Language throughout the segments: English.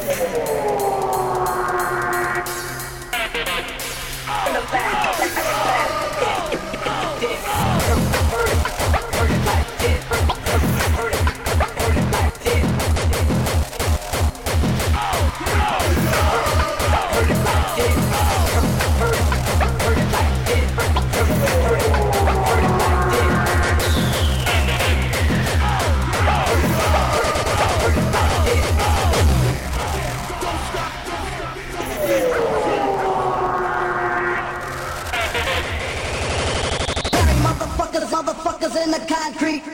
Motherfuckers in the concrete.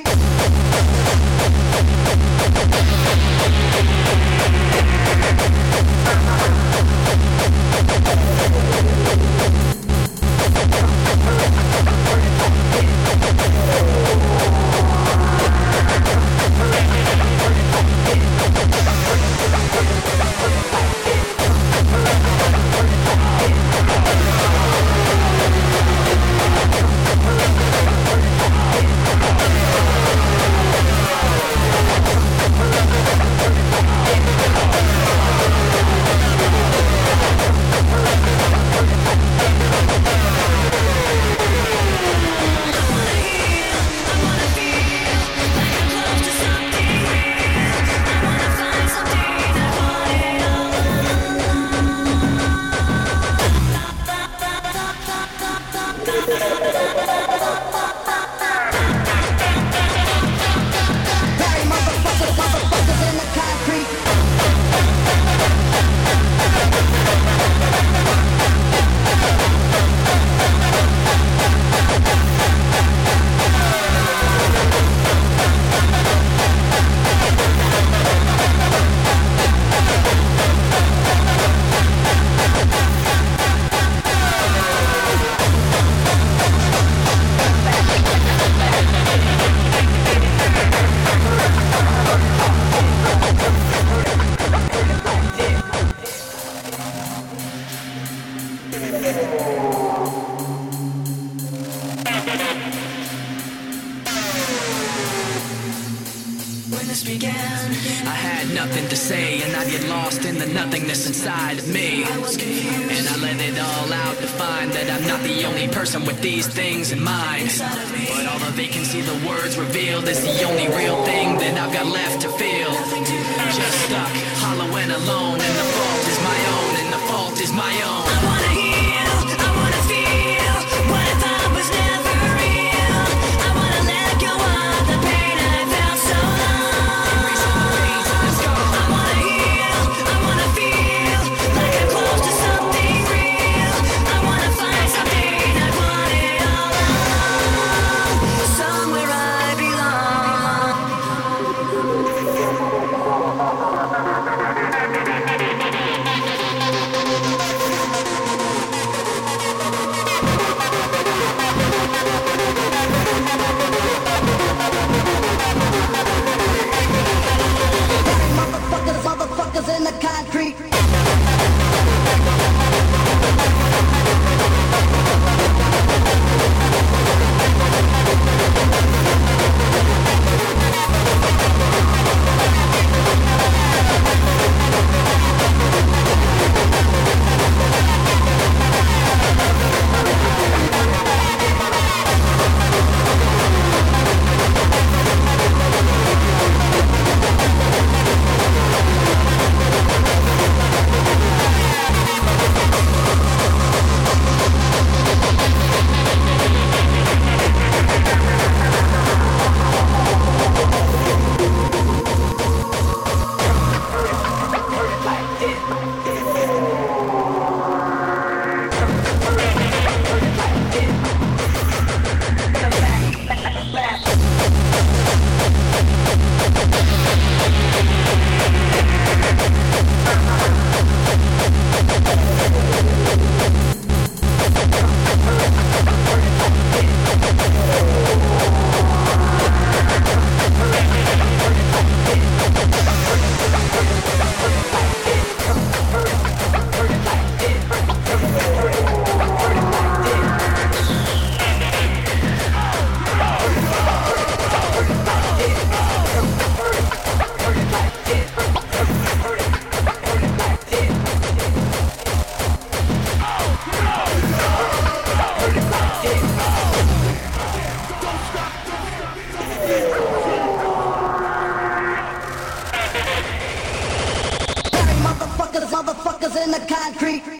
With these things in mind, but although they can see the words revealed, it's the only real thing that I've got left to feel. Just stuck, hollow and alone, and the fault is my own, and the fault is my own. I wanna heal, I wanna feel what I thought was never real. I wanna let go of the pain I felt so long. I wanna heal, I wanna feel like I'm close to something real. I wanna find something somewhere I belong. in the concrete.